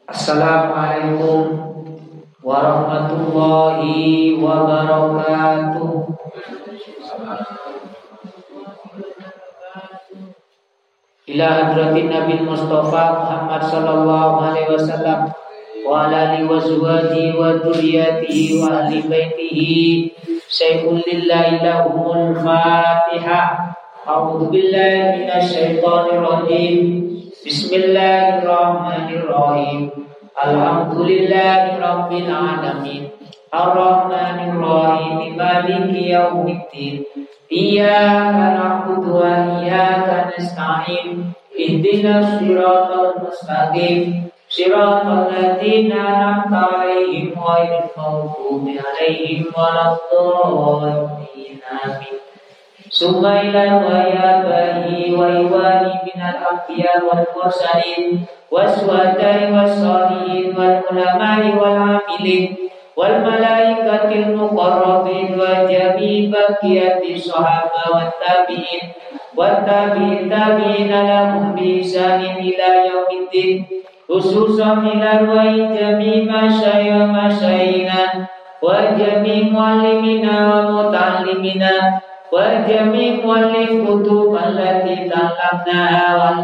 Assalamualaikum warahmatullahi wabarakatuh. Ila hadratin Nabi Mustafa Muhammad sallallahu alaihi wasallam wa ala alihi wa azwajihi wa dzurriyyatihi wa ahli baitihi sayyidul lillahi lahumul Fatihah. A'udzu billahi minasy syaithanir rajim. Bismillahirrahmanirrahim. Alhamdulillahi rabbil alamin. Ar-Rahmanir Rahim. Maliki yaumiddin. Iyyaka na'budu wa iyyaka nasta'in. Ihdinas siratal mustaqim. Siratal ladzina an'amta 'alaihim ghairil maghdubi 'alaihim waladdallin. Amin. Sumailan wa yabahi wa iwani minal anbiya wal mursalin waswadai wassalihin wal ulamai wal amilin wal malaikatil muqarrabin wa jami' baqiyati sahaba wat tabi'in tabi'ina lahum bi ihsanin ila yaumiddin khususan ila wa jami' masyayina wa jami' muallimina wa muta'allimina wa jami' muallif kutub allati ta'allamnaha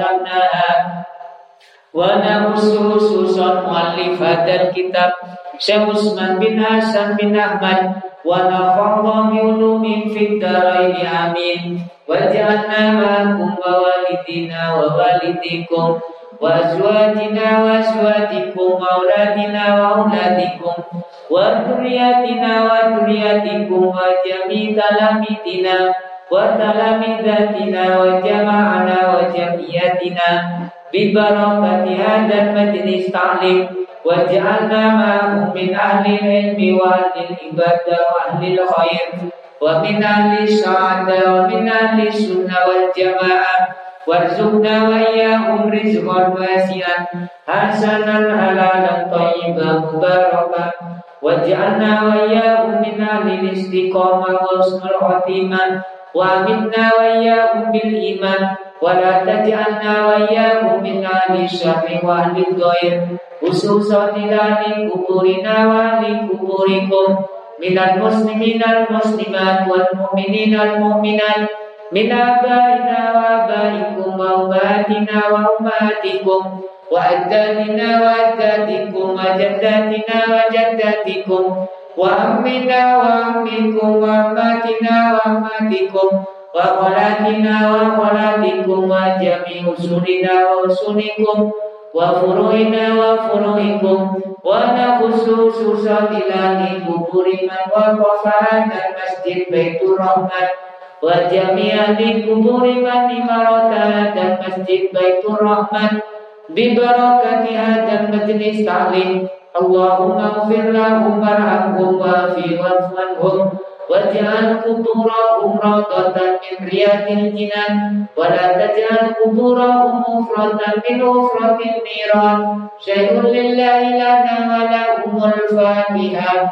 wa khususan muallif hadzal kitab Syekh Utsman bin Hasan bin Ahmad wa nafa'na bi ulumin fid dharain amin wa ja'alna ma'akum wa walidina wa walidikum wa azwajina wa azwajikum wa auladina wa auladikum wa dzurriyyatina wa dzurriyyatikum wa jami' talamidina wa talamidatina wa jama'ana wa jamiyatina bi barakati hadzal majlis ta'lim wa ja'alna ma'ahum min ahli ilmi wa ahli ibadah wa ahli khair wa min ahli sa'adah wa min ahli sunnah wal jamaah warzuqna wa iyyahum rizqan wasi'an hasanan halalan thayyiban mubarakan waj'alna wa iyyahum min ahli istiqamah wa husnul khatimah wa minna wa iyyahum bil iman wa la taj'alna wa iyyahum min ahli syarri wa ahli ghair khususan ila kuburina wa li kuburikum minal muslimina wal muslimat wal mu'minina wal mu'minat min abaina wa abaikum wa ummatina wa ummatikum wa ajdadina wa ajdadikum wa jaddatina wa jaddatikum wa ammina wa ammikum wa ammatina wa ammatikum wa khalatina wa khalatikum wa jami' usulina wa usulikum wa furu'ina wa furu'ikum wa nakhususan ila kuburi man wa qafahan al-masjid Baitur Rahman wa jami'an li kuburi man imaratan dan masjid Baitur Rahman bi barakati hadzal majlis ta'lim. Allahumma ighfir lahum warhamhum wa'fi wa'fwanhum waj'al quburahum rawdatan min riyadil jinan wa la taj'al quburahum mufratan min ufratin niran. Syai'un lillahi lana wa lahumul Fatihah.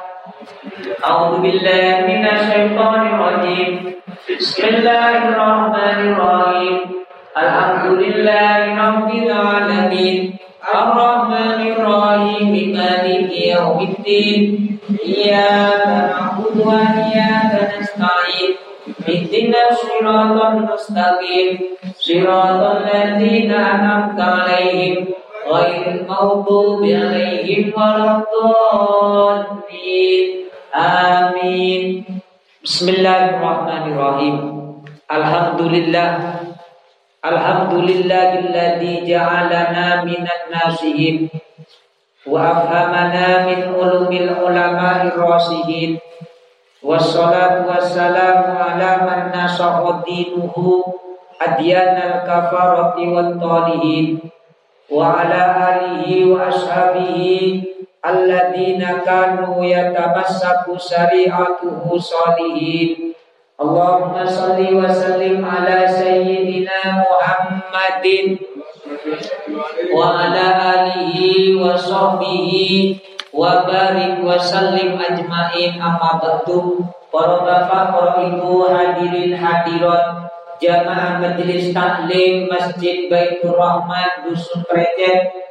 A'udzu billahi minasy syaithanir rajim. Bismillahirrahmanirrahim. Alhamdulillahi rabbil alamin. Ar-Rahmanir Rahim. Maliki yaumiddin. Iyyaka na'budu wa iyyaka nasta'in. Ihdinas siratal mustaqim. Siratal ladzina an'amta 'alaihim ghairil maghdubi 'alaihim waladdallin. Amin. Bismillahirrahmanirrahim. Alhamdulillahilladzi ja'alana minan nasihin wa afhamana min ulumil ulama'ir rasihin. Wassalatu wassalamu ala man nasaha dinuhu adyanal kafarati wat talihin wa ala alihi wa ashabihi alladzina kanu yatamassaku syari'atuhu salihin. Allahumma salli wa sallim ala sayyidina Muhammadin wa ala alihi wa sahbihi wa barik wa sallim ajmain. Amma ba'du. Para bapak, para ibu, hadirin hadirat jamaah majelis taklim Masjid Baitur Rahman Dusun Krecet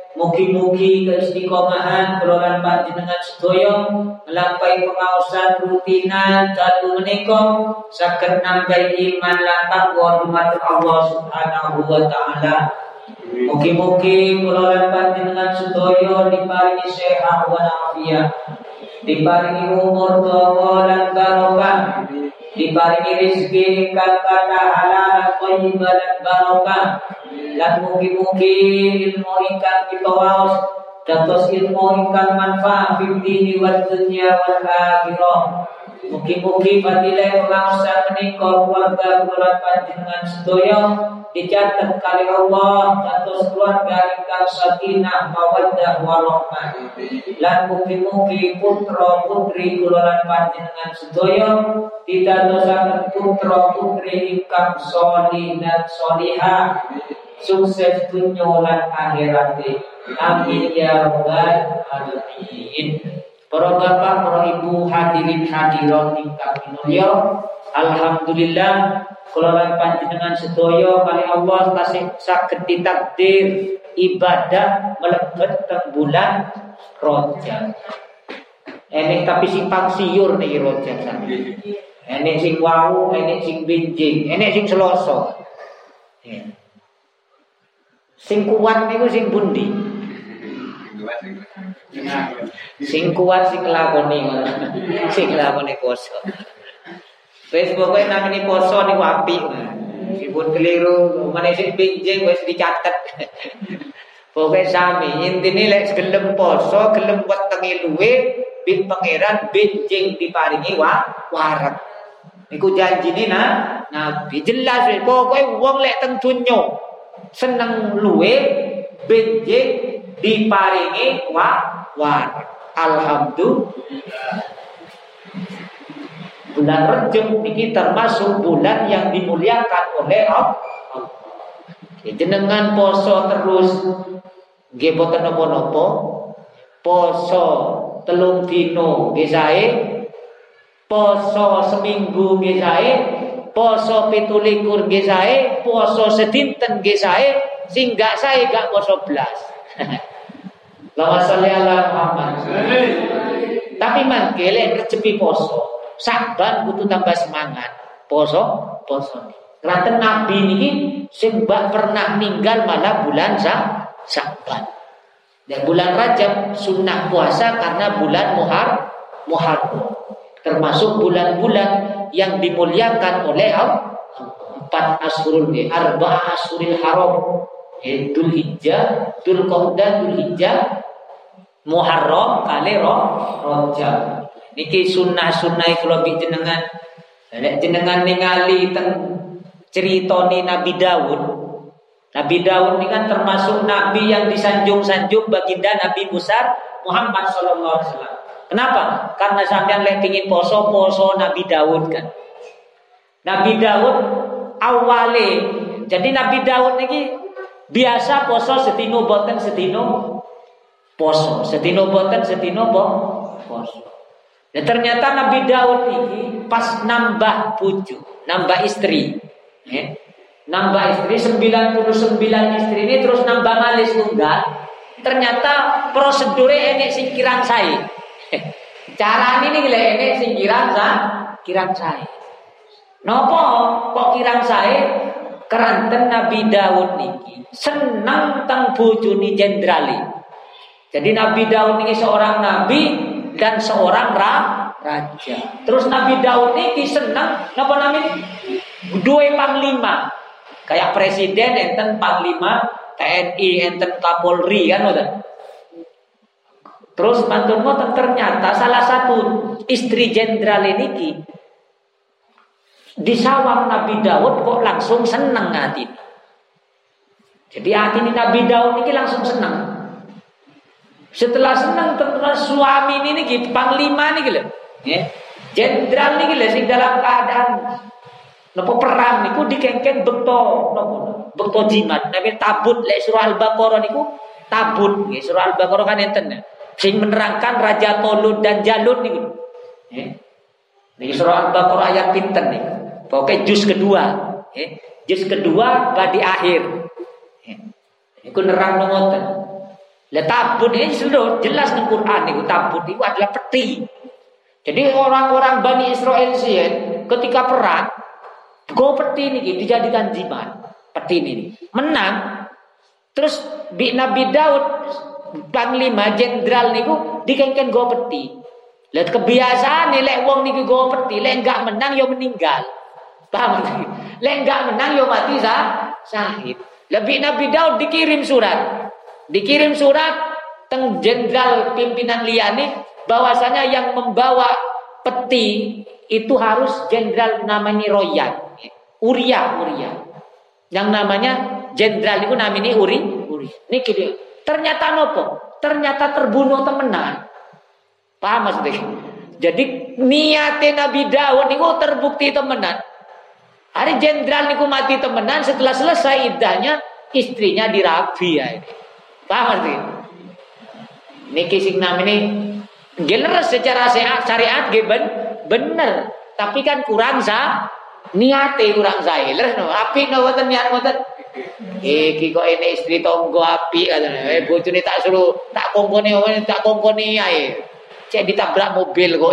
Mugi-mugi keistiqomahan kelolaan panjenengan sedaya nglampahi pengaosan rutinan dalu menika saged nambah iman lan takwa dumateng Allah Subhanahu wa taala. Mugi-mugi kelolaan panjenengan sedaya diparingi sehat wa afiat, diparingi umur dawa lan barokah, diparingi rezeki ingkang kathah halal thayyibah lan barokah. Lan mugi-mugi ilmu ingkang kita waos dados ilmu ingkang manfaat fid dini wad dunya wal akhirah. Mugi-mugi fadilah pengaosan menika keluarga kula panjenengan sedaya dicatet kali Allah dados keluarga ingkang sakinah mawaddah warahmah. Lan mugi-mugi putra putri kula panjenengan sedaya didadosaken putra putri ingkang sholih dan sholihah, sukses dunya lan akhirat. Amin ya rabbal alamin. Para bapak, para ibu, hadirin hadirat ingkang minulya, alhamdulillah kula panjenengan sedaya kali Allah tasih saged ditakdir ibadah mlebet teng bulan Rajab. Enek tapi simpang siur niki Rajab sami. Enek sing wau, enek sing benjing, enek sing Selasa. Sing kuat niku sing pundi? Sing kuat sing lakoni ngono. Sing lakoni poso. Wis pokoke namine poso niku apik. Meskipun keliru, meneh sing benjing wis dicatet. Pokoke sami, intine lek gelem poso, gelem wetenge luwe, bin pangeran benjing diparingi wareg. Niku janjine Nabi jelas wis pokoke wong lek teng donya seneng luwe benjing diparingi wareg. Alhamdulillah. Bulan Rajab ini termasuk bulan yang dimuliakan oleh Allah. Jenengan poso terus nggih boten napa-napa. Poso 3 dina nggih sae. Poso seminggu nggih sae. Poso 17 nggih sae, poso sedinten nggih sae, sing gak sae gak poso blas. Allahumma sholli ala Muhammad. Tapi mangke lek recepi poso, Saban kudu tambah semangat. Poso. Kraten Nabi niki sing mbak pernah ninggal malah bulan Saban. Dan bulan Rajab sunnah puasa karena bulan Muharram. Termasuk bulan-bulan yang dimuliakan oleh Allah. 4 ashurul arba'ah ashuril haram. Dzul Hijjah, Dzul Qa'dah, Dzul Hijjah, Muharram kali Rajab. Niki sunnah-sunnah kula jenengan. Nek jenengan ningali teng critane Nabi Daud. Nabi Daud ini kan termasuk nabi yang disanjung-sanjung baginda Nabi Musa Muhammad sallallahu alaihi wasallam. Kenapa? Karena sampean lek pengin poso Nabi Daud kan. Nabi Daud awale. Jadi Nabi Daud niki biasa poso setino boten setino poso. Setino boten setino poso. Dan ternyata Nabi Daud ini pas nambah bojo, nambah istri. Nambah istri 99 istri ini terus nambah malih tunggal. Ternyata prosedure enek sing kirang sae. Carane niki lek enek sing kirang sae. Napa kok kirang sae? Keranten Nabi Daud niki seneng teng bojone jendrali. Jadi Nabi Daud niki seorang nabi dan seorang raja. Terus Nabi Daud niki seneng napa namanya? Duwe panglima. Kayak presiden enten panglima TNI, enten Kapolri kan udah. Terus mantun ngoten ternyata salah satu istri jenderal niki disawang Nabi Daud kok langsung seneng hati. Jadi hati Nabi Daud niki langsung seneng. Setelah seneng terus suami ini niki panglima niki lho. Jenderal niki lho sing dalam keadaan napa perang niku dikengken bekto jimat. Nabi tabut lek surah Al-Baqarah niku tabut nggih. Surah Al-Baqarah kan enten sing menerangkan Raja Tolut dan Jalut niku. Niki surah Al-Baqarah ayat pinten niku. Pokoke juz kedua, juz kedua badi akhir. Niku nerang ngoten. Lah tabut ini seluruh jelas di Quran itu tabut itu adalah peti. Jadi orang-orang Bani Israel ketika perang go peti ini dijadikan jimat. Peti ini menang. Terus Nabi Daud panglima jenderal niku dikengken go peti. Lah kebiasaan nih lek wong niku go peti lek enggak menang yo meninggal. Paham? Lek enggak menang yo mati syahid. Lebih Nabi Daud dikirim surat teng jenderal pimpinan liyane bahwasanya yang membawa peti itu harus jenderal namanya Royan. Uria. Yang namanya jenderal itu namanya Uri. Niki dia. Ternyata nopo? Ternyata terbunuh temenan. Paham maksudnya? Jadi niatnya Nabi Daud niku terbukti temenan. Hari jenderal niku mati temenan, setelah selesai iddahnya istrinya dirabi ya ini. Paham maksudnya? Niki sing namanya geler secara syariat bener, tapi kan kurang niate kurang saeler no. Apik no boten niat boten. Iki kok ini istri tonggo apik katanya. Bojone tak suruh tak kongkoni ae. Cek ditabrak mobil kok.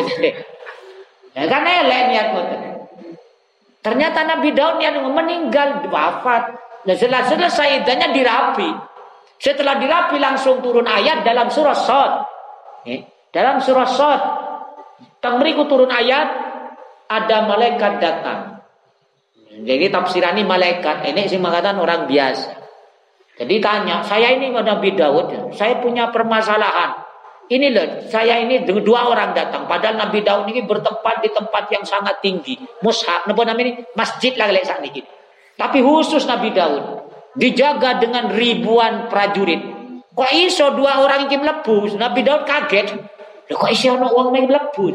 Ya kan elek niat boten. Ternyata Nabi Daud niat meninggal wafat. Nah selesai idahnya dirapi. Setelah dirapi langsung turun ayat dalam surah Shad. Dalam surah Shad tengriku turun ayat ada malaikat datang. Jadi tafsiran ini malaikat, ini sih mengatakan orang biasa. Jadi tanya, saya ini Nabi Daud, saya punya permasalahan. Ini loh, saya ini dua orang datang. Padahal Nabi Daud ini bertempat di tempat yang sangat tinggi. Mushaf, apa namanya ini? Masjid lah saat ini. Tapi khusus Nabi Daud dijaga dengan ribuan prajurit. Kok iso dua orang ini mlebu? Nabi Daud kaget. Loh, kok iso ono wong ini mlebu?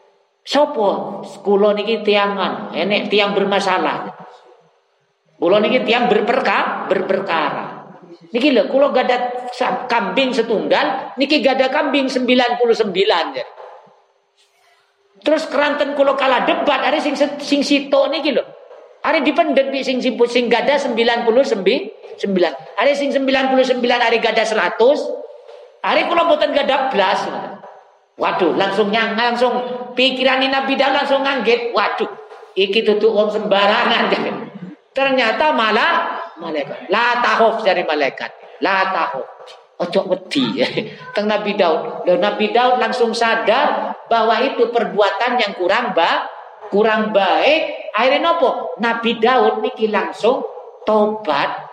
Sopo? Kula niki tiangan, enek tiang bermasalah. Kula niki tiang berperkara. Niki lho, kula gada kambing setunggal, niki gada kambing 99 ya. Terus keranten kula kalah debat, hari sing sitok niki lho. Hari dipendet bi sing gada 99. Hari sing 99 hari gada 100. Hari kula mboten gada blas. Waduh, langsung pikiran Nabi Daud langsung ngangget. Waduh, iki tutuk wong sembarangan. Ternyata malah malaikat. La tahuf dari malaikat. La tahuf. Ojo wedi. Teng Nabi Daud. Dan Nabi Daud langsung sadar bahwa itu perbuatan yang kurang baik. Akhirnya nopo? Nabi Daud niki langsung tobat.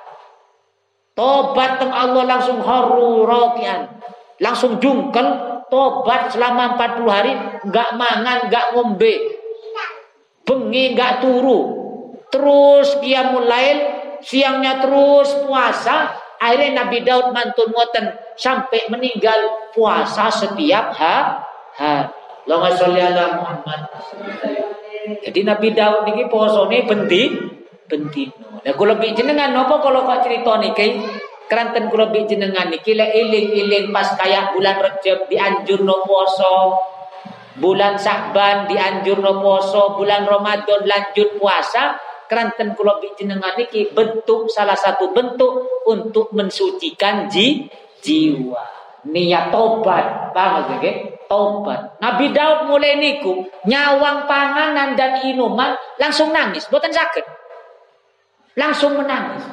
Tobat teng Allah langsung haru rokian. Langsung dungkel. Tobat selama 40 hari, enggak mangan, enggak ngombe, bengi enggak turu, terus qiyamul lail, siangnya terus puasa. Akhirnya Nabi Daud mantun ngoten sampai meninggal puasa setiap hari. Allahumma sholli ala Muhammad. Jadi Nabi Daud niki posone bendino. Lah kula lebih jenengan napa kalau kok crita niki? Keranten kula bi jenengan niki lek iling-iling pas kaya bulan Rajab dianjurno poso, bulan Sya'ban dianjurno poso, bulan Ramadan lanjut puasa, keranten kula bi jenengan niki bentuk salah satu bentuk untuk mensucikan jiwa. Niat tobat, paham nggih? Tobat. Nabi Daud mulai niku nyawang panganan dan inuman langsung nangis, mboten saged. Langsung menangis.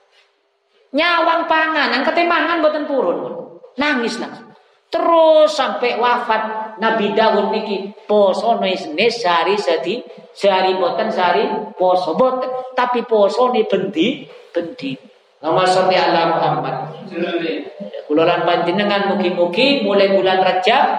Nyawang panganan ketemangan boten purun, nangis langsung. Terus sampai wafat Nabi Daud niki poso ne sehari boten sehari poso boten, tapi poso ne bendi. Nama sholli ala Muhammad. Kula lan panjenengan mugi-mugi mulai bulan Rajab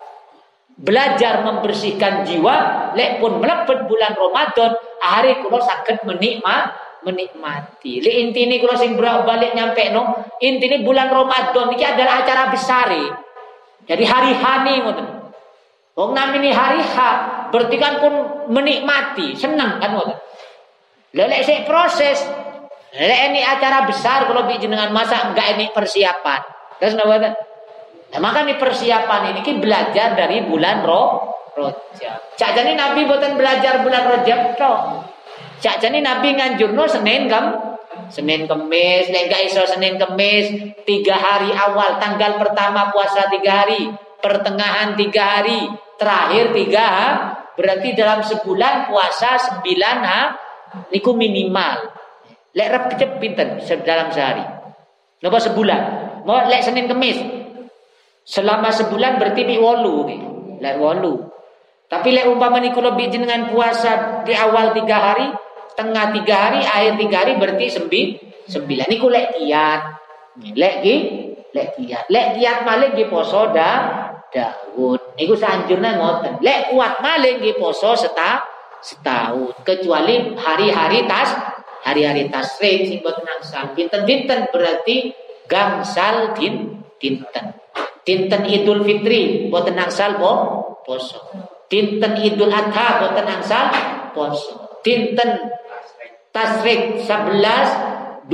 belajar membersihkan jiwa, lek pun mlebet bulan Ramadan, hari kula saged menikmati. Li intine kula sing balik nyampe no, intine bulan Ramadan iki adalah acara besar. Jadi hari H nih ngoten. Wong namine hari H, berarti kan pun menikmati, senang kan ngoten. Lek sik proses, lek ini acara besar kalau jenengan masa enggak ini persiapan. Terus napa? Nah, maka ini persiapan ini belajar dari bulan Rajab. Cak jane Nabi boten belajar bulan Rajab tok. Cak jane Nabi nganjurno Senin Senin Kemis, lek gak iso Senin Kemis 3 hari awal, tanggal pertama puasa 3 hari, pertengahan 3 hari, terakhir 3 berarti dalam sebulan puasa 9 niku minimal. Lek repet pinten dalam sehari. Napa sebulan? Mau lek Senin Kemis. Selama sebulan berarti mi 8 lek 8. Tapi lek umpama niku lebih jenengan puasa di awal 3 hari, tengah 3 hari, akhir 3 hari berarti 9. Niku lek kiat. Lek kiat. Lek kiat malih nggih poso Daud. Niku sanjurna ngoten. Lek kuat malih nggih poso setahun. Kecuali hari-hari tasrik sing boten angsal. Pinten-pinten berarti gangsal dinten. Dinten Idul Fitri boten angsal poso. Dinten Idul Adha boten angsal poso. Dinten tasrik 11, 12,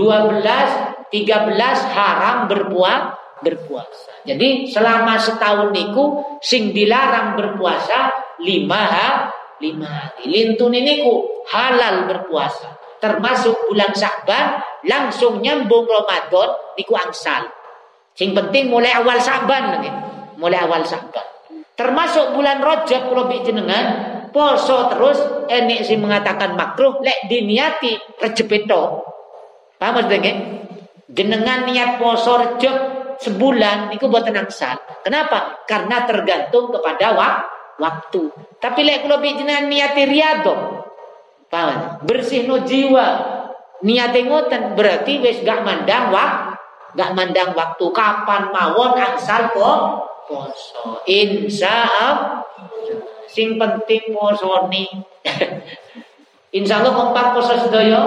13 haram berpuasa. Jadi selama setahun niku sing dilarang berpuasa 5 hari. Lintun niku halal berpuasa. Termasuk bulan Sya'ban langsung nyambung Ramadan niku angsal. Sing penting mulai awal Sya'ban nggih. Mulai awal Sya'ban. Termasuk bulan Rajab kula jenengan poso terus enek sing mengatakan makruh lek diniati Rejab itu. Paham nggih? Jenengan niat poso Rejab sebulan niku boten angsal. Kenapa? Karena tergantung kepada waktu. Tapi lek kula jenengan niati riyadhah. Paham? Bersihno jiwa. Niate ngoten berarti wis gak mandang waktu kapan mawon angsal poso. Insyaallah. Sing penting posoni. Insyaallah kompak poso sedaya.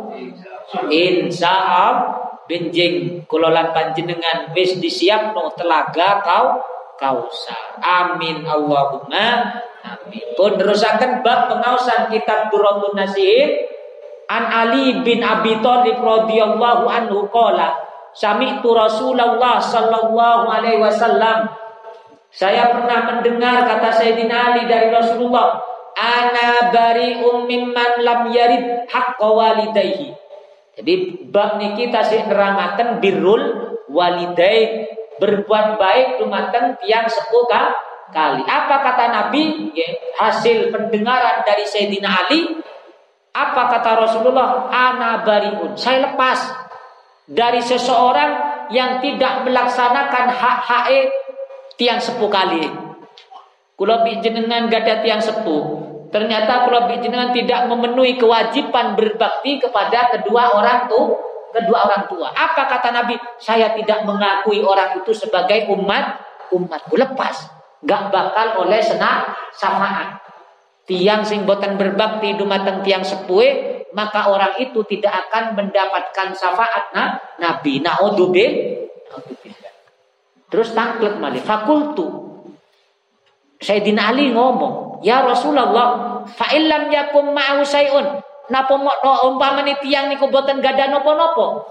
Insyaallah benjing kula lan panjenengan wis disiapno telaga kausar. Amin Allahumma amin. Pun terusaken bab pengaosan kitab Durratun Nasihin. An Ali bin Abi Thalib radhiyallahu anhu qala sami'tu Rasulullah sallallahu alaihi wasallam. Saya pernah mendengar kata Sayyidina Ali dari Rasulullah, ana bari'um mimman lam yarid haqqa walidayhi. Jadi bab niki tasih nerangaken birrul walidain, berbuat baik dumateng tiyang sepuh kali. Apa kata Nabi? Hasil pendengaran dari Sayyidina Ali. Apa kata Rasulullah? Ana bari'un. Saya lepas dari seseorang yang tidak melaksanakan hak-hak tiang sepuh kali. Kula jenengan gada tiang sepuh. Ternyata kula jenengan tidak memenuhi kewajiban berbakti kepada kedua orang tua. Apa kata Nabi? Saya tidak mengakui orang itu sebagai umatku. Lepas. Gak bakal oleh syafaat. Tiang sing boten berbakti dumateng tiang sepuh, maka orang itu tidak akan mendapatkan syafaat Nabi. Naudzubillah. Terus tangklet malih. Fakultu. Sayyidina Ali ngomong, ya Rasulullah, fa illam yakum ma'u sayun. Napa umpamane tiyang niku boten gadah napa-napa?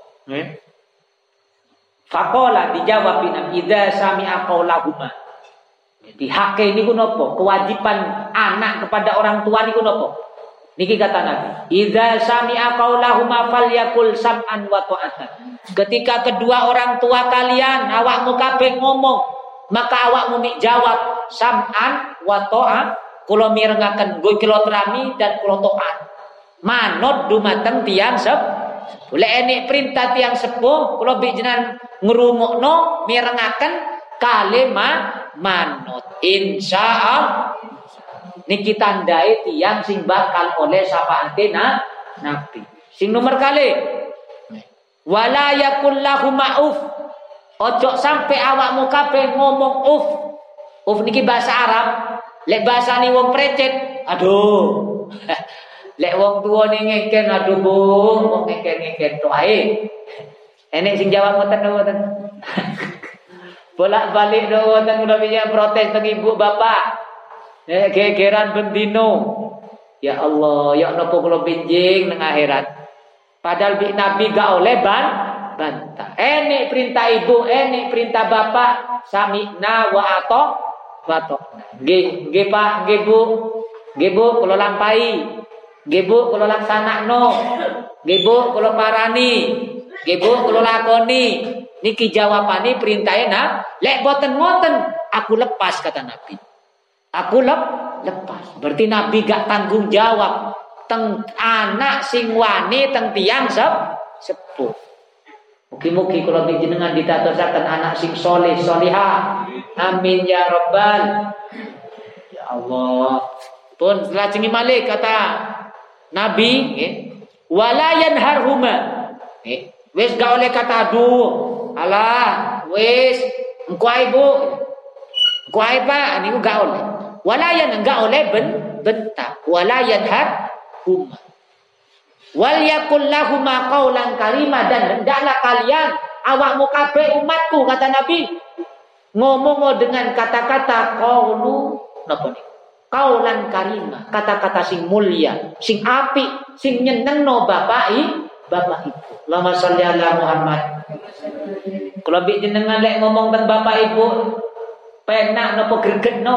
Faqala dijawab Nabi, idza sami'a qaulahuma. Jadi hak niku napa? Kewajiban anak kepada orang tua niku napa? Niki kata Nabi, idza sami'a qaulahuma falyakul sam'an wa ta'atan. Ketika kedua orang tua kalian awakmu kabeh ngomong, maka awakmu mik jawab sam'an wa ta'at. Kula mirengaken nggo kula terami dan kula taat. Manut dumateng tiyang sepuh. Lek enek perintah tiyang sepuh kula jenengan ngrungokno mirengaken kalimat manut. Insyaallah niki tandai tiyang sing bakal oleh syafaate Nabi. Sing nomor kali wala yakul lahum ma'uf. Ojo sampai awakmu kabeh ngomong uf. Uf niki bahasa Arab. Lek bahasane wong precet, aduh. Lek wong tuwa ning ngeken, aduh Bu, wong ngeken-ngeken tok ae. Enek sing jawab ngoten. Bolak-balik ngoten kula piye protes teng ibu bapak. Gegeran bendino. Ya Allah, ya napa kula benjing nang akhirat. Padahal Nabi gak oleh bantah. Enek perintah ibu, enek perintah bapak, sami'na wa ata'na. Nggih Pak, nggih Bu, kula lampahi. Nggih Bu, kula laksanakno. Nggih Bu, kula parani. Nggih Bu, kula lakoni. Niki jawabane perintahe lek boten ngoten aku lepas kata Nabi. Aku lepas. Berarti Nabi gak tanggung jawab teng anak sing wani teng tiyang sepuh. Mugi-mugi kula panjenengan ditatosaken anak sing soleh solihah. Amin ya rabbal. Ya Allah. Pun lajengi malih kata Nabi nggih, wala yanharhuma. Nggih, wis gak oleh kata aduh, alah, wis engko ae Bu. Engko ae Pak, niku gak oleh. Wala enggak oleh bentak. Wala yanharhuma. Wal yakul lahuma qaulan karima, dan hendaklah kalian awakmu kabeh umatku kata Nabi ngomong dengan kata-kata qaulu napa niku? Qaulan karima, kata-kata sing mulia, sing apik, sing nyenengno bapak ibu. Allahumma sholli ala Muhammad. Kalau bi jenengan lek ngomong tentang bapak ibu, penak napa gregetno?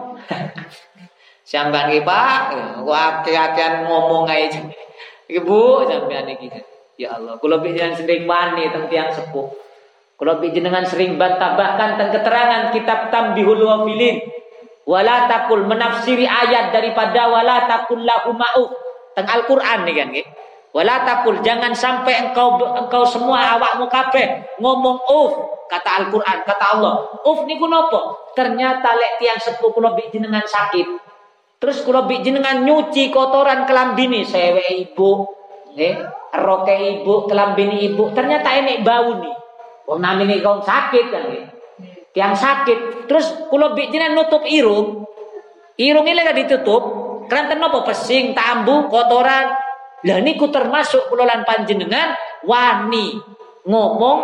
Sampeyan iki Pak, akeh-akehan ngomong ae. Ibu sampeyan iki. Ya Allah, kula bi jenengan sering wani teng tiyang sepuh. Kula bi jenengan sering bantah bahkan teng keterangan kitab Tambihul Ghafilin. Wala taqul, menafsiri ayat daripada wala taqul lahum ma'uf teng Al-Qur'an nih kan nggih. Wala taqul, jangan sampai engkau semua awakmu kabeh ngomong kata Al-Qur'an, kata Allah. Niku napa? Ternyata lek tiyang sepuh kula bi jenengan sakit. Terus kula bi jenengan nyuci kotoran kelambine sewe ibu, nggih, roke ibu, kelambine ibu, ternyata enek bau nih. Wong namine kau sakit kan nggih. Yang sakit, terus kula bi jenengan nutup irung ini lek ditutup, kranten napa pesing, tambu, kotoran. Lah niku termasuk kula lan panjenengan wani ngomong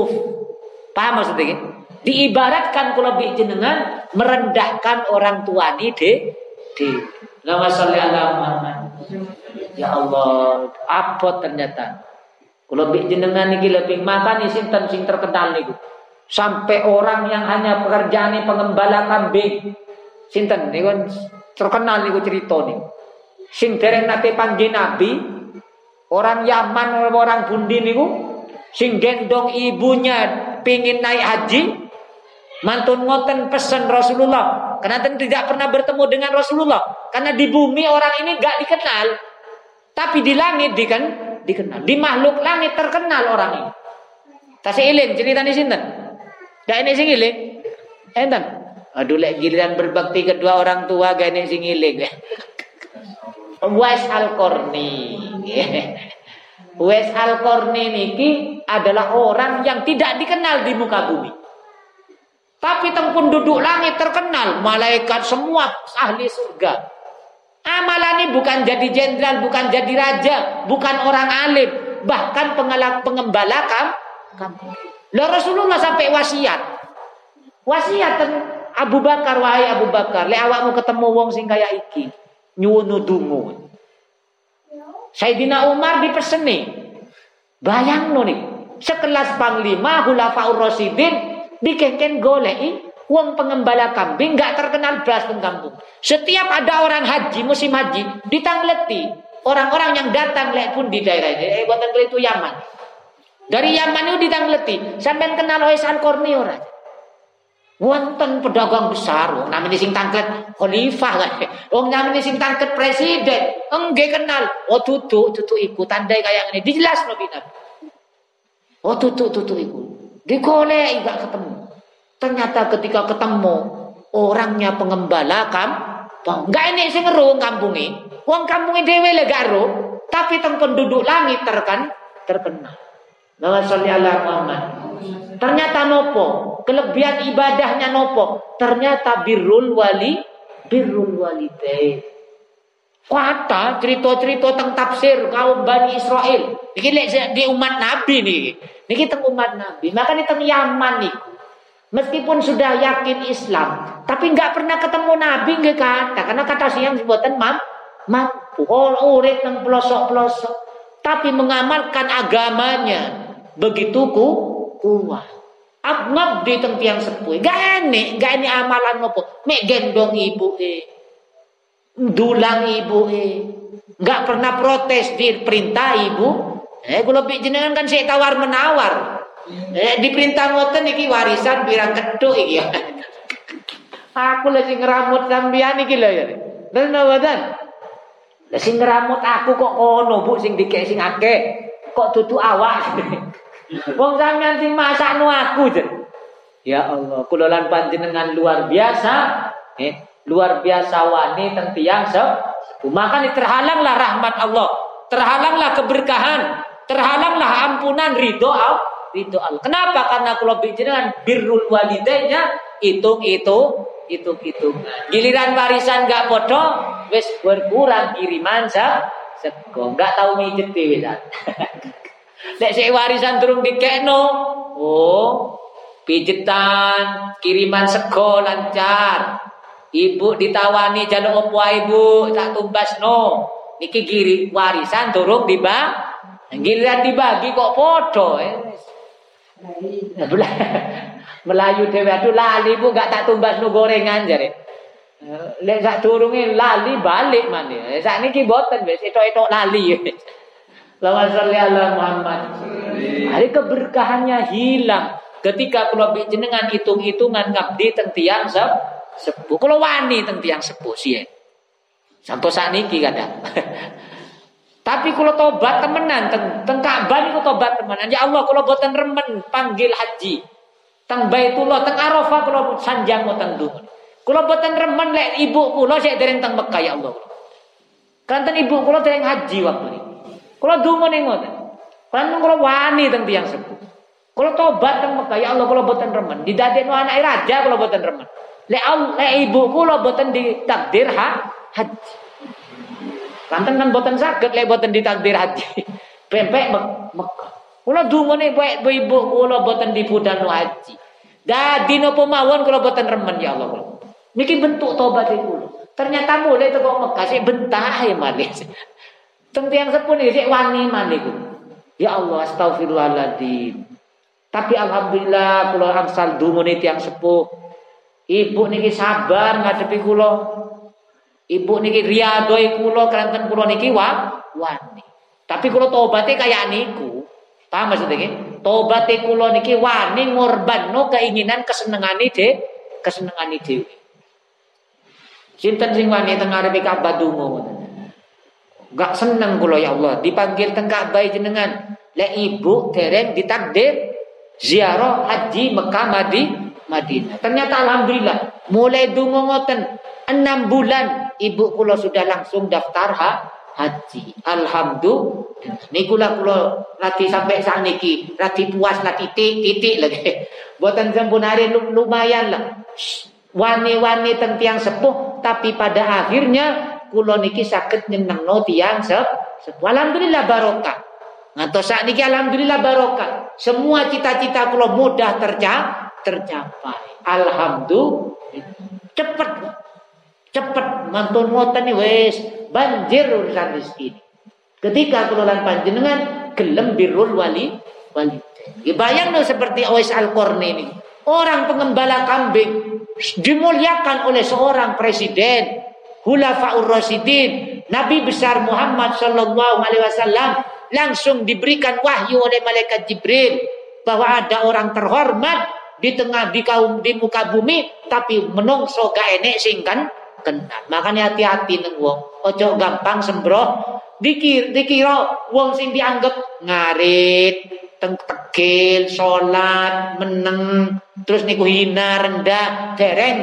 Paham maksudnya iki? Diibaratkan kula bi jenengan merendahkan orang tua ni Allahumma sholli ala Muhammad. Ya Allah, apa ternyata kula bi jenengan iki lebih makani sinten sing terkenal niku. Sampai orang yang hanya pekerjaannya pengembala kambing, sinten niku terkenal niku cerita niku. Sing dereng nate panggih Nabi, orang Yaman orang Bundi niku, sing gendong ibunya pingin naik haji, mantun ngoten pesen Rasulullah. Karena tidak pernah bertemu dengan Rasulullah, karena di bumi orang ini gak dikenal, tapi di langit dikenal, di makhluk langit terkenal orang ini. Tasih iling ceritane sinten? Gak ini sing iling. Enten. Aduh lek giliran berbakti kedua orang tua gak ini sing iling. Uwais Al-Qarni. Uwais Al-Qarni niki adalah orang yang tidak dikenal di muka bumi. Tapi teng penduduk langit terkenal, malaikat semua ahli surga. Amalannya bukan jadi jenderal, bukan jadi raja, bukan orang alim, bahkan pengembala kampung. Lah Rasulullah sampai wasiat Abu Bakar, wahai Abu Bakar, lek awakmu ketemu wong sing kaya iki, nyuwun ndonga. Sayyidina Umar dipeseni. Bayangno nih, sekelas panglima Khulafaur Rasyidin dikengken goleki wong pengembala kambing gak terkenal blas teng kampung. Setiap ada orang haji, musim haji, ditangleti orang-orang yang datang lek pun di daerah ini, boten itu Yaman. Dari Yaman itu ditangleti, sampean kenal Uwais Al-Qarni ora? Wonten pedagang besar, wong namine sing tanglet khalifah kae. Wong namine sing tanglet presiden, enggak kenal. Oh tutu iku tandai kaya ngene. Dijelasno Nabi. Oh tutu iku. Digoleki gak ketemu. Ternyata ketika ketemu orangnya pengembala kampung. Enggak enek sing ngeru kampunge. Wong kampunge dhewe le gak ero, tapi teng penduduk langit terkenal. Allahumma sholli ala Muhammad. Ternyata nopo? Kelebihan ibadahnya nopo? Ternyata birrul walidain. Kata cerita-cerita tentang tafsir kaum Bani Israel. Iki lek di umat Nabi niki. Niki teng umat Nabi. Makanya teng Yaman niku. Meskipun sudah yakin Islam, tapi enggak pernah ketemu Nabi nggih kata. Karena kata siang mboten mampu. Urip teng pelosok-pelosok, tapi mengamalkan agamanya begitu kuat. Ngabdi teng tiyang sepuh. Gak enek amalan nopo. Mek gendong ibuke. Dulang ibuke. Enggak pernah protes diperintah ibu. Kula jenengan kan sik tawar-menawar. Diperintah ngoten iki warisan pirang keduk iki. Aku lagi ngeramut sampeyan iki lho ya. Terus mboten. Lah sing ngeramut aku kok kono Bu sing dikek sing akeh. Kok dudu awak. Wong sampeyan sing masakno aku jen. Ya Allah, kula lan panjenengan luar biasa. Luar biasa wani teng tiyang sepuh. Maka terhalanglah rahmat Allah, terhalanglah keberkahan, terhalanglah ampunan ridho Allah. Kenapa? Karena kula panjenengan birrul walidainnya hitung. Giliran warisan gak podo, wis berkurang kiriman sego, gak tahu mijet dhewe ta. Nek sik warisan durung dikekno, pijetan, kiriman sego lancar. Ibu ditawani jaluk opo ae Bu, tak tumbasno. Niki giri warisan durung giliran dibagi kok podo. Melayu dhewe aduh lali Bu gak tak tumbasno gorengan jare. Lek sak durunge lali balik maneh. Sakniki mboten wis etok-etok lali. Allahumma sholli ala Muhammad. Hari keberkahannya hilang ketika kula jenengan hitung-hitungan ngabdi teng tiyang sepuh. Kula wani teng tiyang sepuh sih. Sampai sakniki kadang. Tapi kula tobat temenan teng Ka'bah niku tobat temenan. Ya Allah kula boten remen panggil haji. Teng Baitullah, teng Arafah kula sanjang ngoten dungu. Kula boten remen lek ibu kula sik dereng teng Mekah ya Allah. Kanten ibu kula dereng haji waktu niku. Kula dungu ning ngoten. Kanten kula wani teng tiyang sepuh. Kula tobat teng Mekah ya Allah kula boten remen. Didadekno anake raja kula boten remen. Lek ibu kula boten ditakdir haji. Kanten kan boten saged lek boten ditakdir haji. Pempek Mekah. Kula dungane ibu kula boten dipudhano haji. Dadi napa mawon kula boten remen ya Allah. Niki bentuk tobat kula. Ternyata mulai teko Mekah sik bentah ya malih. Teng tiyang sepuh niki sik wani malih. Ya Allah astagfirullahaladzim. Tapi alhamdulillah kula angsal dungane tiyang sepuh. Ibu niki sabar ngadepi kula. Ibu niki riyadhoi kula kanten kula niki wani. Tapi kula tobaté kaya niku. Paham maksud iki? Tobaté kula niki wani ngorbanno keinginan kesenengane dhewe. Sinten sing wani teng ngarepe Ka'bah donga. Enggak seneng kula ya Allah dipanggil teng Ka'bah jenengan. Lek ibu dereng ditakdir ziarah haji Mekah Madinah. Ternyata alhamdulillah mulai donga ngoten 6 bulan ibu kula sudah langsung daftar haji. Alhamdulillah. Niku lah kula rati sampai sakniki, rati puas lah titik lagi. Boten sampun hari lumayan lah. Wani-wani teng tiyang sepuh tapi pada akhirnya kula niki saged nyenengno tiyang sepuh. Alhamdulillah barokah. Ngantos sakniki alhamdulillah barokah. Semua cita-cita kula mudah tercapai. Alhamdulillah. Cepet mantun ngoten wis banjir urusan rezeki. Ketika kula lan panjenengan gelem birrul walidain. Bayangno seperti Uwais Al-Qarni ini. Orang pengembala kambing dimuliakan oleh seorang presiden, Khulafaur Rasyidin, Nabi besar Muhammad sallallahu alaihi wasallam langsung diberikan wahyu oleh malaikat Jibril bahwa ada orang terhormat di muka bumi tapi menungso gak enek sing kenal. Makanya hati-hati neng wong, ojo gampang sembroh. Dikira wong sing dianggap ngarit, tegil, salat, meneng, terus niku hina rendah, dereng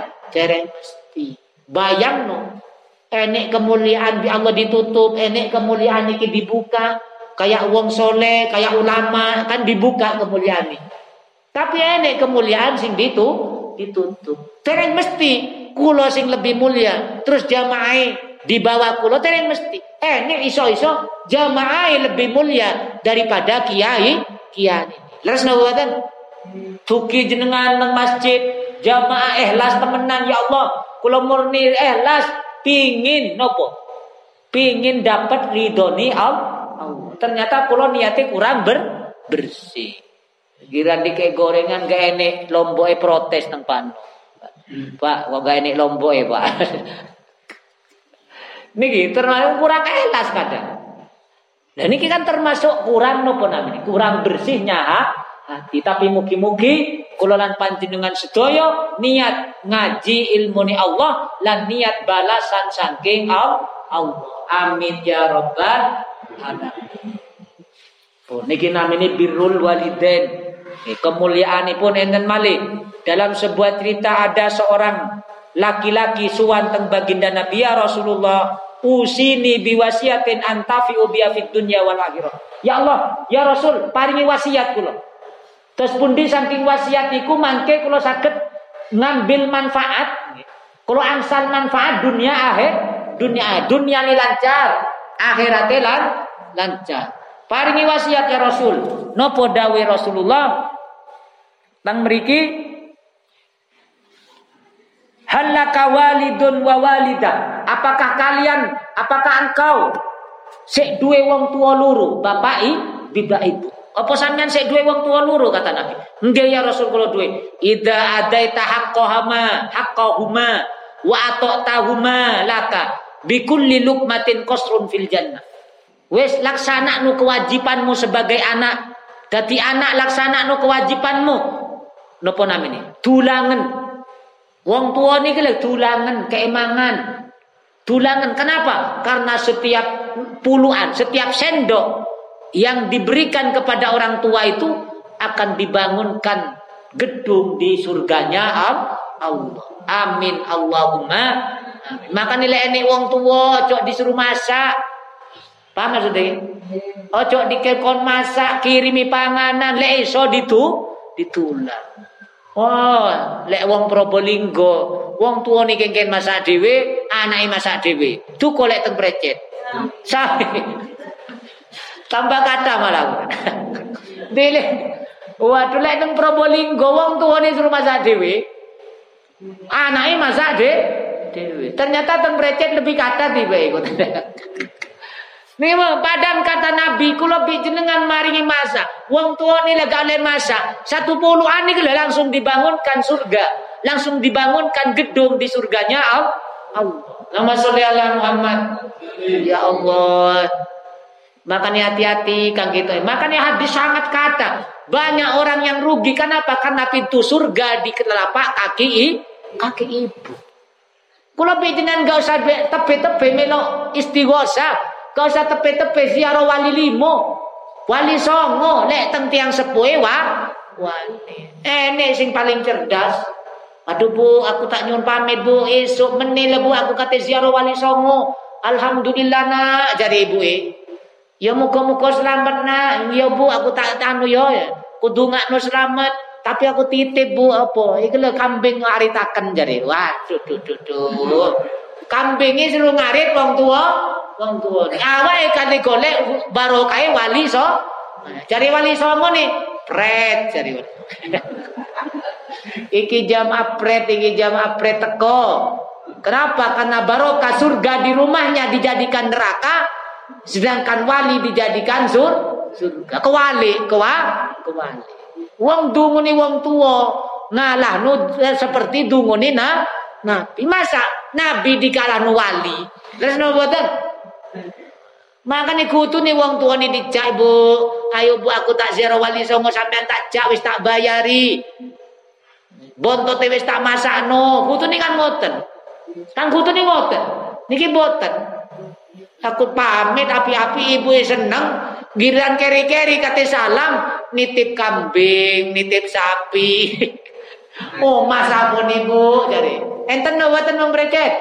mesti. Bayangno, enek kemuliaan di Allah ditutup, enek kemuliaan iki dibuka, kayak wong soleh, kayak ulama kan dibuka kemuliaan ini. Tapi enek kemuliaan sing ditutup. Dereng mesti kula sing lebih mulia, terus jamaah di bawah kula dereng mesti. Nek iso-iso jamaah lebih mulia daripada kiai ini. Leres nawadan. Tuki jenengan nang masjid, jamaah ikhlas temenan ya Allah. Kula murni ikhlas pingin nopo? Pingin dapat ridhoni Allah. Ternyata kula niate kurang bersih. Kira dikek gorengan gak enek lomboke protes nang pano. Pak, kok gak enek lomboke, Pak. Niki termasuk kurang ikhlas kadang. Nah niki kan termasuk kurang napa namanya? Kurang bersihnya hati. Tapi mugi-mugi kula lan panjenengan sedaya niat ngaji ilmune Allah lan niat balasan saking Allah. Amin ya rabbal alamin. Niki namanya birrul walidain. Kemuliaanipun enten malih. Dalam sebuah cerita ada seorang laki-laki suwan teng baginda Nabi ya Rasulullah, usini biwasiatin antafi'u biha fid dunya wal akhirah. Ya Allah, ya Rasul, paringi wasiat kula. Terus pundi saking wasiat iku mangke kula saged ngambil manfaat. Kula angsal manfaat dunia dunia ni lancar, akhirate lancar. Paringi wasiat ya Rasul. Napa dawuh Rasulullah? Tang mriki halaka walidun wa walidah. Apakah engkau sik duwe wong tua loro, bapak ibu? Apa sampean sik duwe wong tua loro kata Nabi? Nggih ya Rasul kula duwe. Idza adaita haqqahuma wa ata'tahuma laka bikulli luqmatin qasrun fil jannah. Wis laksanakno kewajibanmu sebagai anak. Dadi anak laksanakno kewajibanmu. Napa namine? Dulangen. Wong tua niki lho dulangan, keemangan. Dulangan kenapa? Karena setiap puluhan, setiap sendok yang diberikan kepada orang tua itu akan dibangunkan gedung di surganya Allah. Amin Allahumma. Amin. Maka nilai ini wong tua cok disuruh masak. Paham maksudnya? Ojo dikekon masak, kirimi panganan, lek iso ditulang. Oh, lek wong Probolinggo, wong tuwa niki kengken masak dhewe, anake masak dhewe. Duko lek teng Precet. Sae. Tambah kata malah. Dile. Waduh lek teng Probolinggo wong tuwane suruh masak dhewe. Anake masak dhewe. Ternyata teng Precet lebih kata tiba iku. Nih padahal kata Nabi kula jenengan maringi masak. Wong tua ni lega oleh masak. 10 ani langsung dibangunkan surga, langsung dibangunkan gedung di surganya Allah. Nama sholli ala Muhammad. Ya Allah. Makanya hati-hati kang gitu. Makanya hadis sangat kata. Banyak orang yang rugi kenapa? Karena pintu surga di telapak kaki ibu. Kula jenengan gak usah tepe-tepe melo istighosa. Kau usah tepe-tepe ziarah wali limo, wali songo, lek teng tiang sepuhe wali. Nek sing paling cerdas. Aduh Bu, aku tak nyuwun pamit Bu, esuk meneh Bu aku kate ziarah wali songo. Alhamdulillah nak, jare ibuke. Ya muga-muga selamat nak. Ya Bu, aku tak anu ya. Kudu ngakno selamat, tapi aku titip Bu apa? Iki lho kambing aritaken jare. Waduh duh. Kambinge suruh ngarit wong tua. Awake kali golek barokahe wali so. Cari wali songo nih, pret cari wali. Iki jam apret teko. Kenapa? Karena barokah surga di rumahnya dijadikan neraka, sedangkan wali dijadikan surga. Kewali. Wong dunguni wong tua ngalah seperti dunguni Nabi. Masa Nabi dikalahno wali? Terus noboten? Makanya kutu nih wong tua nih dijak Bu. Ayo Bu aku tak ziarah wali songo sampean tak jak wis tak bayari. Bontot wis tak masakno. Kutu nih kan ngoten. Kan kutu nih ngoten. Niki boten. Aku pamit api-api ibu seneng. Giliran keri-keri kate salam nitip kambing, nitip sapi. Oh mas ampun ibu jare. Enten boten wong Precet.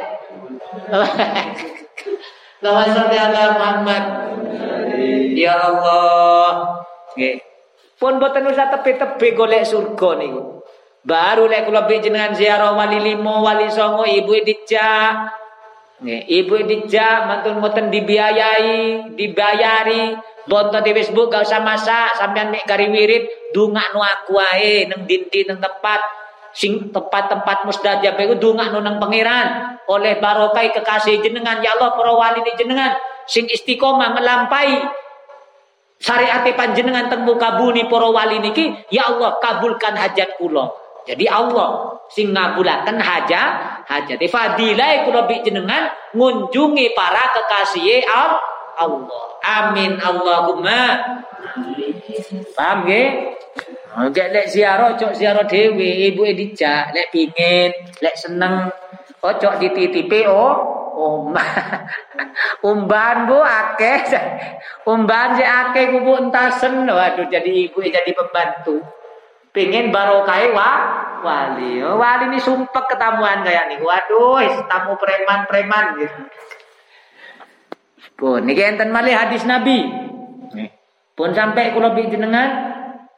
Lawan sholli ala Muhammad. Ya Allah. Nggih. Pun boten usah tepe-tepe golek surga niku. Baru lek kula jenengan ziarah wali limo, wali songo, ibu dijak. Nggih, ibu dijak mantun mboten dibayari. Bontot di Facebook gak usah masak, sampean mek gari wirid dungakno aku ae nang dindi nang tempat sing tempat-tempat mustajab iku dongakno nang pangeran oleh barokah kekasih jenengan ya Allah para wali jenengan sing istiqomah ngelampahi syariat panjenengan teng muka bumi para wali niki ya Allah kabulkan hajat kula. Jadi Allah sing ngabulaken hajat hajat. Fadilah kula bi jenengan ngunjungi para kekasih Allah. Amin Allahumma. Paham nggih? Oke, lek ziarah cok ziarah dhewe, ibuke dijak, lek pingin, lek seneng, ojo dititipi umban Bu akeh. Umban si akeh kubu entasen. Waduh, jadi ibuke jadi pembantu. Pingin barokai wali. Wali ini sumpek ketamuan kayak nih. Waduh, tamu preman-preman gitu. Pun niki enten malih hadis Nabi. Pun sampai kula bi jenengan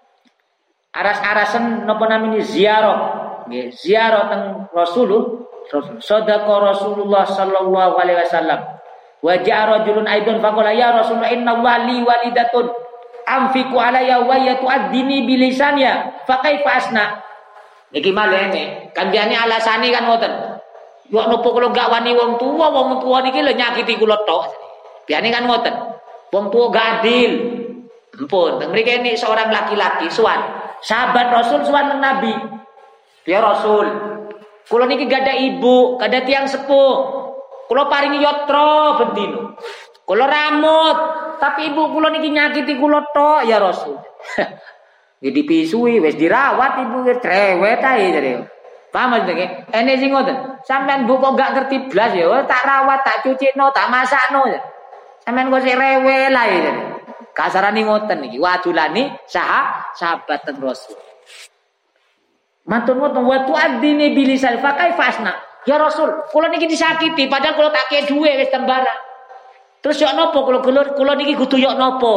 aras-arasen napa namine ziarah. Nggih, ziarah teng Rasulullah. Sadaqa Rasulullah sallallahu alaihi wasallam. Wa ja'a rajulun aidon faqala ya Rasulullah inna wali walidatun amfiku alayya wa yatu'addini bilisaniya fa kaifa asna. Niki malih kan biane alasane kan ngoten. Yo nopo kula gak wani wong tuwa niki lho nyakiti kula tok. Biane kan ngoten. Wong tuwa gak adil. Ampun, teng mriki ini seorang laki-laki suwan. Sahabat Rasul suwan teng Nabi. Ya Rasul, kula niki gak ada ibu, gak ada tiang sepuh. Kula paringi yatra bendino. Kula ramut, tapi ibu kula niki nyakiti kula tok ya Rasul. Jadi pisui wis dirawat ibu cerewet ae jare. Paham nggih? Ene sing ngoten. Sampeyan bu kok gak ngerti blas ya, tak rawat, tak cucikno, tak masakno. Sampeyan kok sik rewel ae jare. Kasarane ngoten niki, wadulani sahabat ten Rasul. Mantun-mantun wa tu'addini bilisan fa kaifasna. Ya Rasul, kula niki disakiti padahal kula tak kei duwe wis tembara. Terus yo nopo kula niki kudu yo nopo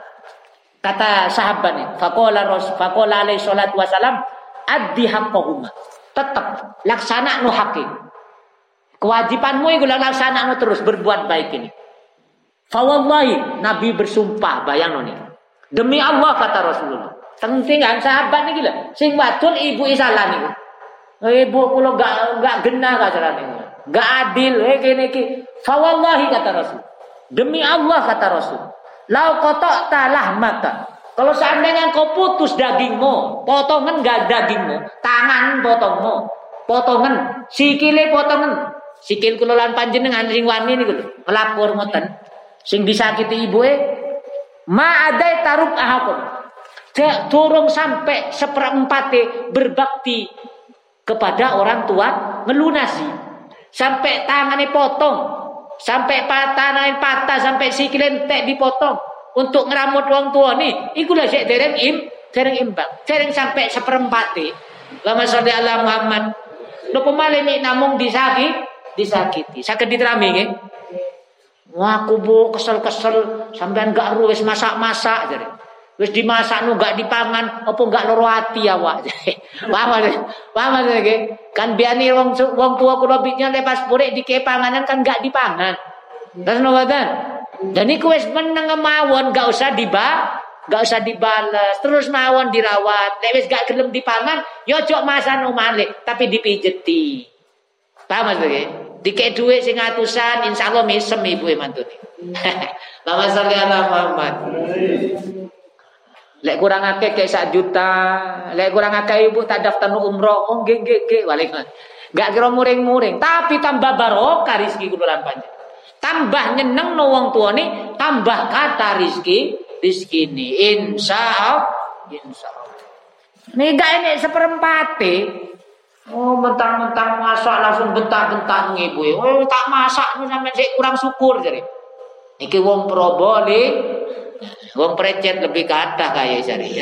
kata sahabat nih. Faqala alaihi salatu wasalam addi haqqahuma. Tetap laksana nu haqqi. Kewajibanmu iku laksana terus berbuat baik ini. Fa wallahi Nabi bersumpah bayang nih. Demi Allah kata Rasulullah. Tentingan sahabat niki lho, sing wadul ibu isalah niku. Ibu kula gak genah kasarane. Gak adil kene iki. Fa wallahi kata Rasul. Demi Allah kata Rasul. Lau qata'ta lahmaka. Kalau seandainya kau putus dagingmu, potongan gak dagingmu, tangan potongan, sikile potongan. Sikil kula lan panjenengan sing wani niku lho, nglapor ngoten. Sing disakiti ibuke ma adai taruk ahakum. Turung sampai seperempate berbakti kepada orang tua ngelunasi. Sampai tangannya potong, sampai tangannya patah, sampai sikile entek dipotong untuk ngeramut wong tua nih. Iku lah sik dereng imbang. Dereng sampai seperempate. Lama sholli ala Muhammad. Napa malih nek namung disakiti. Saged diterami nggih. Wah aku bu kesel sampean gak ru wis masak-masak jare. Wis dimasakno gak dipangan apa gak loro ati awak. Paham nggih? Kan biane wong tua kula bitnya lepas purek dike panganan kan gak dipangan. Terus ngoten. Dan iku wis meneng mawon gak usah dibales. Terus mawon dirawat. Nek wis gak gelem dipangan, yo ojo masano malih tapi dipijeti. Paham nggih? Dikek duit sing atusan insyaallah mesem ibuke mantune. Lama sholli ala Muhammad. Lek kurang akeh kek 1 juta, lek kurang akeh ibu tak daftar umroh. Oh nggih balik. Gak kira muring-muring, tapi tambah barokah rezeki kula lan panjenengan. Tambah nyenengno wong tuane, tambah kata rezekine insyaallah. Nek gak enek seperempate. Oh mentang-mentang masak langsung bentak-bentak ngibu. Oh tak masak sampean sik kurang syukur jare. Iki wong Probole, wong precet lebih kathah kaya jare.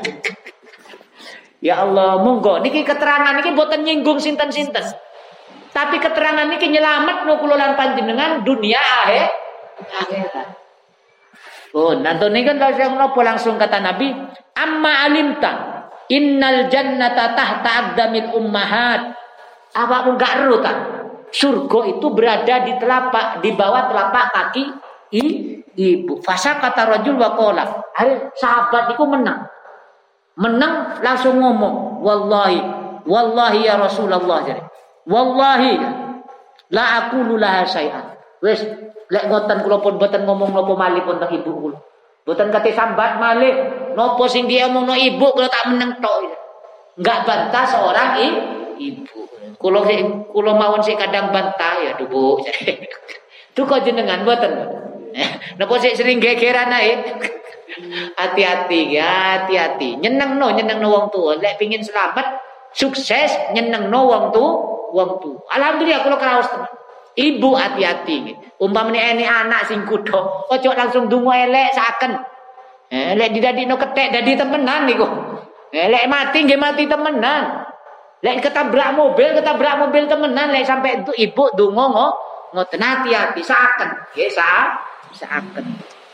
Ya Allah, monggo niki keterangan niki boten nyinggung sinten-sinten. Tapi keterangan niki nyelametno kula lan panjenengan dunia akhirat. Oh, nantone kan langsung kata Nabi, amma alimta innal jannata tahta aqdamil ummahat. Apa enggak ero ta? Surga itu berada di bawah telapak kaki ibu. Fasa kata rajul wa qala. Sahabat itu menang langsung ngomong, wallahi ya Rasulullah jare. Wallahi la aqulu laha syai'an. Wis lek ngoten kula pun boten ngomong napa malih pun teng ibu kula. Boten kate sambat malih. Nopo sing dia omongno ibu kalau tak meneng tok. Enggak bantah seorang ibu. Kula mawon sik kadang bantah ya duh Bu. Duka jenengan mboten. Napa sik sering gegeran ae. Hati-hati ya, hati-hati. Nyenengno wong tuwa. Lek pengin selamat, sukses nyenengno wong tuwa. Alhamdulillah kula kraos tenan. Ibu hati-hati. Umpamane ene anak sing kudo, ojo langsung donga elek saken. Lek didadekno kethek dadi temenan niku. Lek mati nggih mati temenan. Lek ketabrak mobil temenan. Lek sampai itu ibu donga ngoten hati-hati saken. Nggih saken.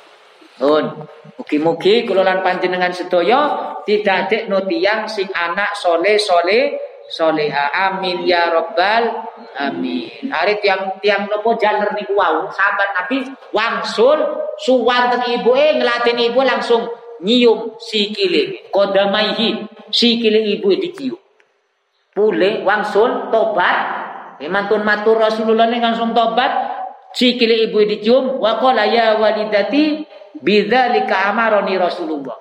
Mugi-mugi kula lan panjenengan sedaya didadekno tiyang sing anak soleha. Amin ya rabbal amin. Are tiang nopo jaler niku wau sahabat Nabi wangsul suwanten ibuke ngladen ibu langsung nyium sikile kodamaihi sikile ibu dicium. Pule wangsul tobat mantun matur Rasulullah langsung tobat sikile ibu dicium wa qala ya walidati bidzalika amaroni Rasulullah.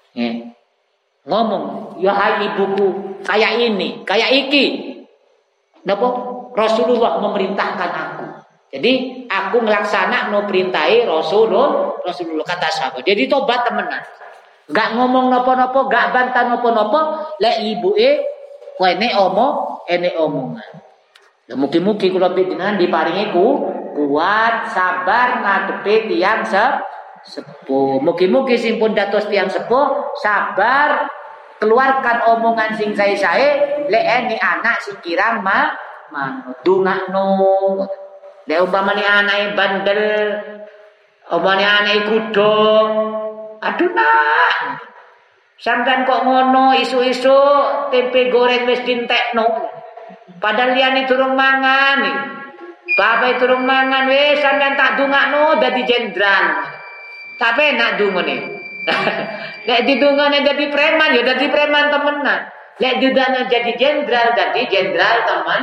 Ngomong, ya hai ibuku, kayak ini, kayak iki. Napa? Rasulullah memerintahkan aku. Jadi aku ngelaksana no perintahe Rasulullah kata sahabat. Jadi tobat temenan. Enggak ngomong napa-napa, enggak bantah napa-napa, lek ibuke ene omongan. Lah mugi-mugi kula panjenengan diparingi kuat, sabar ngadepi tiyang sepuh. Mugi-mugi sing pun dados tiyang sepuh sabar keluarkan omongan sing sae-sae lek ene anak sing kirang dungakno. Lek umpamane anake bandel, umpamane anake kudo, aduh nah. Sampeyan kok ngono isu-isu tempe goreng wis dintekno. Padahal liyane durung mangan iki. Bapak durung mangan wis sampeyan tak dungakno dadi jenderal. Tapi enak dungane. Lek didungane dadi preman ya dadi preman temenan. Lek didungane jadi jenderal teman.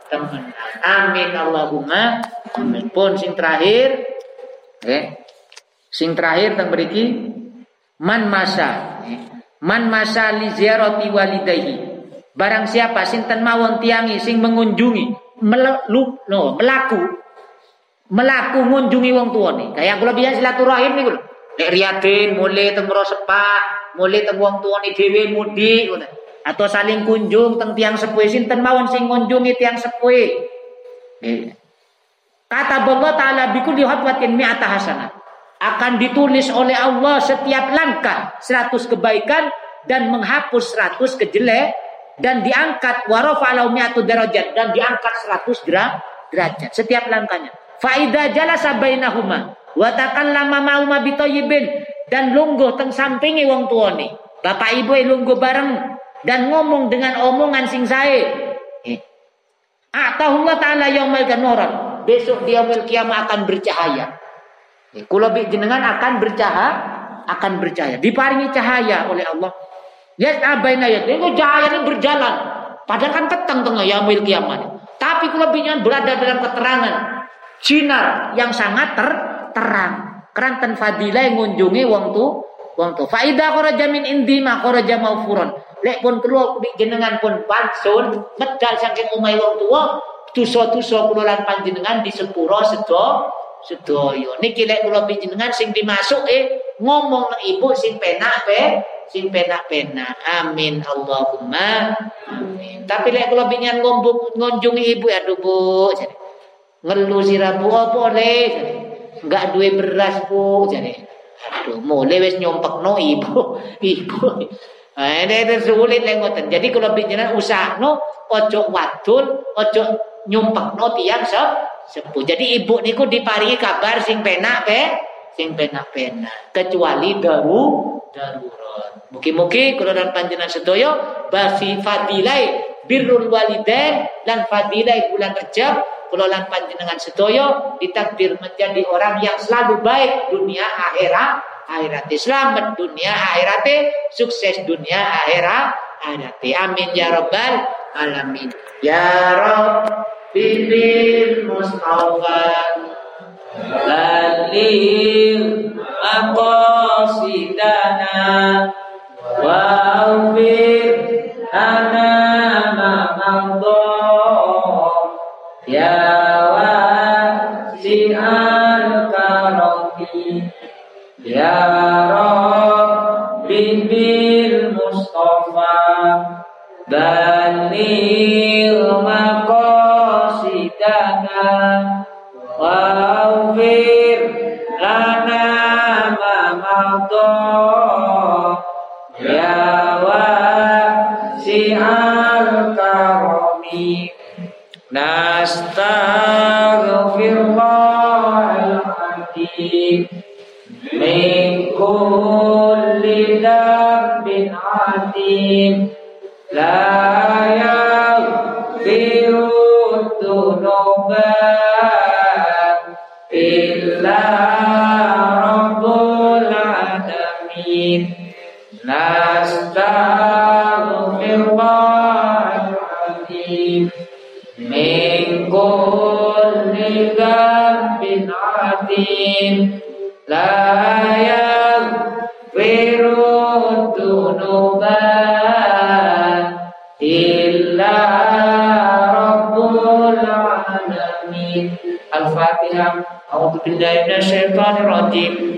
Amin Allahumma amin. Pun sing terakhir teng mriki man masa li ziarati walidayhi. Barang siapa sinten mawon tiangi sing mengunjungi melaku ngunjungi wong tuane. Kayak kula biasa silaturahim niku lho. Nek riyaden mulai teng sepak, mulai teng wong tuane dhewe mudik ngoten. Atau saling kunjung teng tiang sepuh sinten mawon sing ngunjungi tiang sepuh. Kata Allah Ta'ala bikulli khatwatin mi'ata hasanah. Akan ditulis oleh Allah setiap langkah 100 kebaikan dan menghapus 100 kejelek dan diangkat wa rafa'alahu mi'atu darajat dan diangkat 100 derajat setiap langkahnya. Fa idza jalasa bainahuma wa takallama ma'uma bitayyibin dan lungguh teng sampingi wong tuane. Bapak ibu lungguh bareng dan ngomong dengan omongan sing sae. Atahullah Ta'ala yaumil qiyamah. Besok dia yaumil qiyamah akan bercahaya. Kula jenengan akan bercahaya. Diparingi cahaya oleh Allah. Lihat abaina ya. Itu cahaya ini berjalan. Padahal kan petang tengah yaumil qiyamah. Tapi kula jenengan berada dalam keterangan sinar yang sangat terang. Keranten fadilah ngunjungi wong tu. Fa idza kharaja min indi ma kharaja maghfuran. Lek pun keluar jenengan pun pansun medal saking omahe wong tuwa, dosa-dosa kula lan panjenengan disepuro sedaya. Niki lek kula panjenengan sing dimasuke ngomong nang ibu sing penak amin Allahumma amin. Tapi lek kula panjenengan ngunjungi ibu aduh Bu jare. Ngelu sira Bu apa le? Enggak duwe beras Bu jare. Aduh mulai wis nyompekno ibu. Ini sulit lek ngoten. Jadi kalau panjenengan usahno ojo wadul, ojo nyumpekno tiyang sepuh. Jadi ibu niku diparingi kabar sing penak kecuali darurat. Mugi-mugi kula lan panjenengan sedaya basi fadilai birrul walidain lan fadilai bulan Rajab kula lan panjenengan sedaya ditakdir menjadi orang yang selalu baik dunia akhirat selamat dunia akhirat sukses dunia akhirat amin ya rabbal alamin ya rabbi bil mustafa balil aqasidana wa awfir ana ma Ya wasi'al karami Ya Rabbi bil Mustafa Balil maqasidana Waghfir lana ma madha Ya wasi'al karami Nastaghfirullahal azim min kulli dhanbin azim la yaghfiru dhunuba illa rabbul alamin Nastaghfirullahal azim min kulli dhanbin azim la yaghfiru dhunuba illa rabbul alamin. Al-Fatihah. A'udzu billahi minasyaitonir rajim.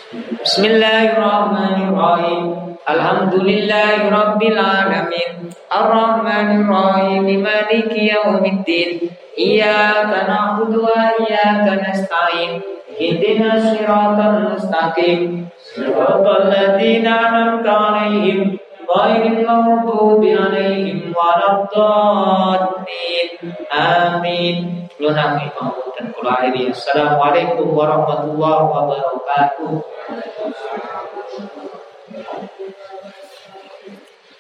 Bismillahirrahmanirrahim. Alhamdulillahi rabbil alamin. Ar-Rahmanir Rahim. Maliki yaumiddin. Iyyaka na'budu wa iyyaka nasta'in. Ihdinas siratal mustaqim. Siratal ladzina an'amta 'alaihim ghairil maghdubi 'alaihim waladdallin. Amin. Assalamualaikum warahmatullahi wabarakatuh.